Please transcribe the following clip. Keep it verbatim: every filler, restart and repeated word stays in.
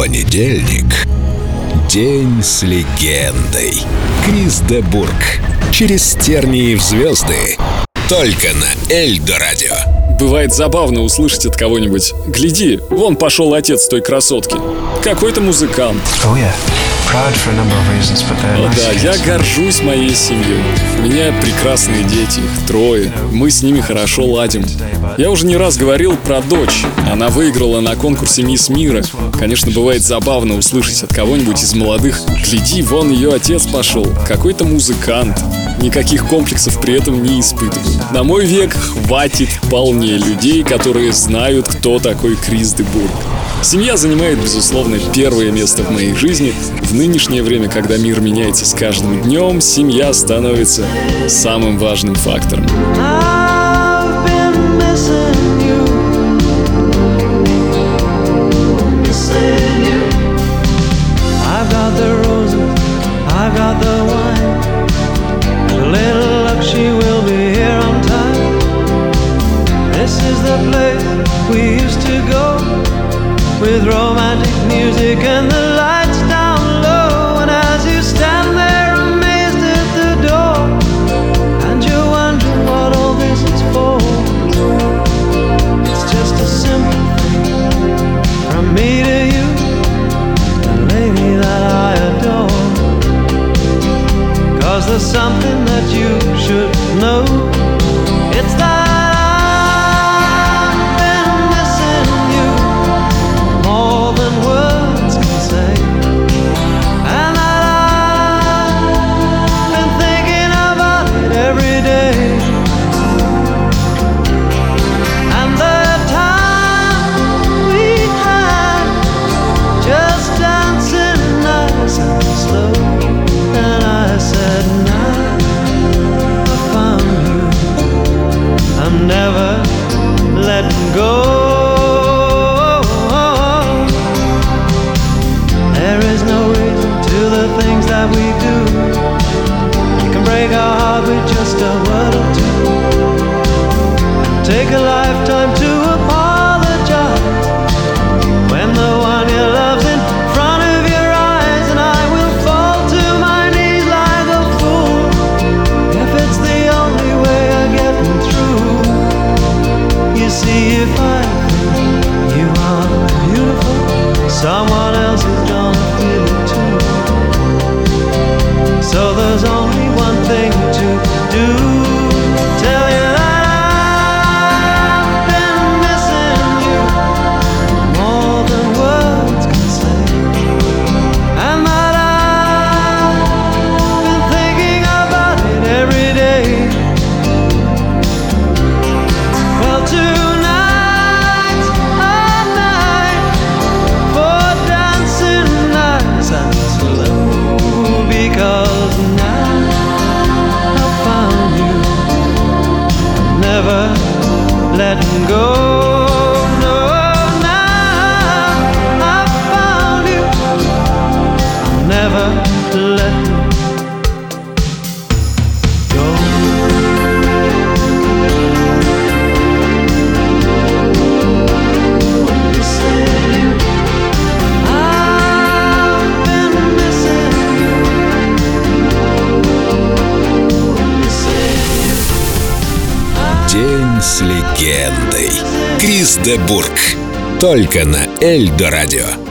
Понедельник. День с легендой. Крис де Бургh. Через тернии в звезды. Только на Эльдо Радио. Бывает забавно услышать от кого-нибудь: «Гляди, вон пошел отец той красотки. Какой-то музыкант». Oh, yeah. Proud for a number of reasons, but they're О nice да, я kids. горжусь моей семьей. У меня прекрасные дети, их трое. Мы с ними хорошо ладим. Я уже не раз говорил про дочь. Она выиграла на конкурсе «Мисс Мира». Конечно, бывает забавно услышать от кого-нибудь из молодых: «Гляди, вон ее отец пошел. Какой-то музыкант». Никаких комплексов при этом не испытываю. На мой век хватит вполне людей, которые знают, кто такой Крис де Бургh. Семья занимает, безусловно, первое место в моей жизни. В нынешнее время, когда мир меняется с каждым днем, семья становится самым важным фактором. With romantic music and the lights down low, and as you stand there amazed at the door, and you're wondering what all this is for, it's just a simple thing from me to you, the lady that I adore. 'Cause there's something that you should know. It's that never letting go. There is no reason to the things that we do. We can break our heart with just a word or two. Take a lifetime to apologize when the one you love's in front of your eyes, and I will fall to my knees like a fool if it's the only way of getting through. You see, if I think you are beautiful, someone else is gonna feel it too. So there's only one thing to do: tell you that I've been missing you more than words can say, and that I've been thinking about it every day. Well, tonight's our night for dancing nice and slow, because now I found you, never letting go. No, now I found you, never letting go. День с легендой. Крис де Бургh. Только на Эльдо Радио.